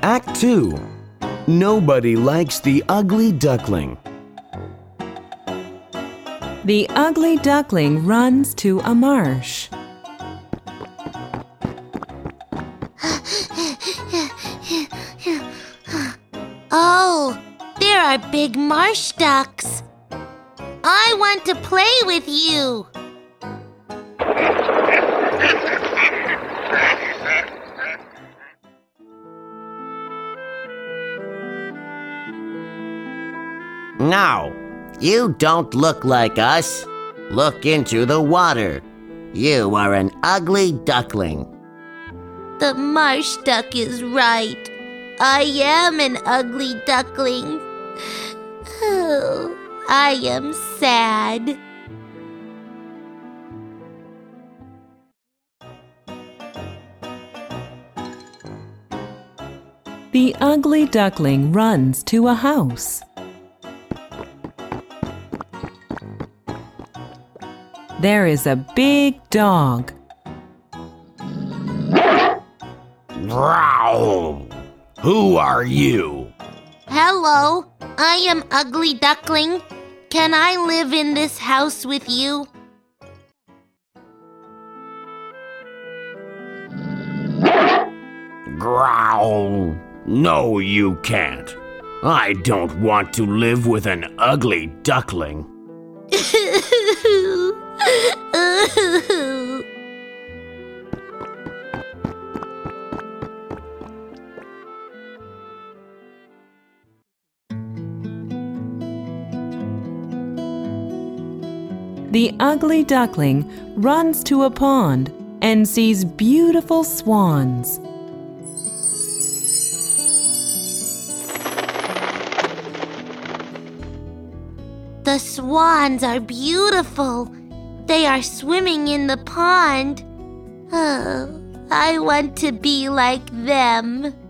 Act 2. Nobody likes the ugly duckling. The ugly duckling runs to a marsh. Oh, there are big marsh ducks. I want to play with you. No, you don't look like us. Look into the water. You are an ugly duckling. The marsh duck is right. I am an ugly duckling. Oh, I am sad. The ugly duckling runs to a house. There is a big dog. Growl! Who are you? Hello, I am Ugly Duckling. Can I live in this house with you? Growl! No, you can't. I don't want to live with an ugly duckling. The ugly duckling runs to a pond and sees beautiful swans. The swans are beautiful. They are swimming in the pond. Oh, I want to be like them.